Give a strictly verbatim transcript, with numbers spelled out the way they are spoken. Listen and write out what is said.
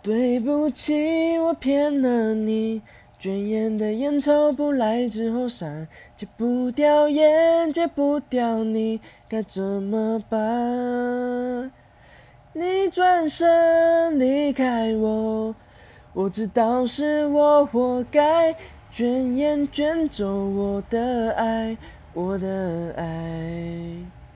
对不起，我骗了你。卷烟的烟抽不来之后闪，戒不掉烟，戒不掉你，该怎么办？你转身离开我，我知道是我活该，卷烟卷走我的爱，我的爱。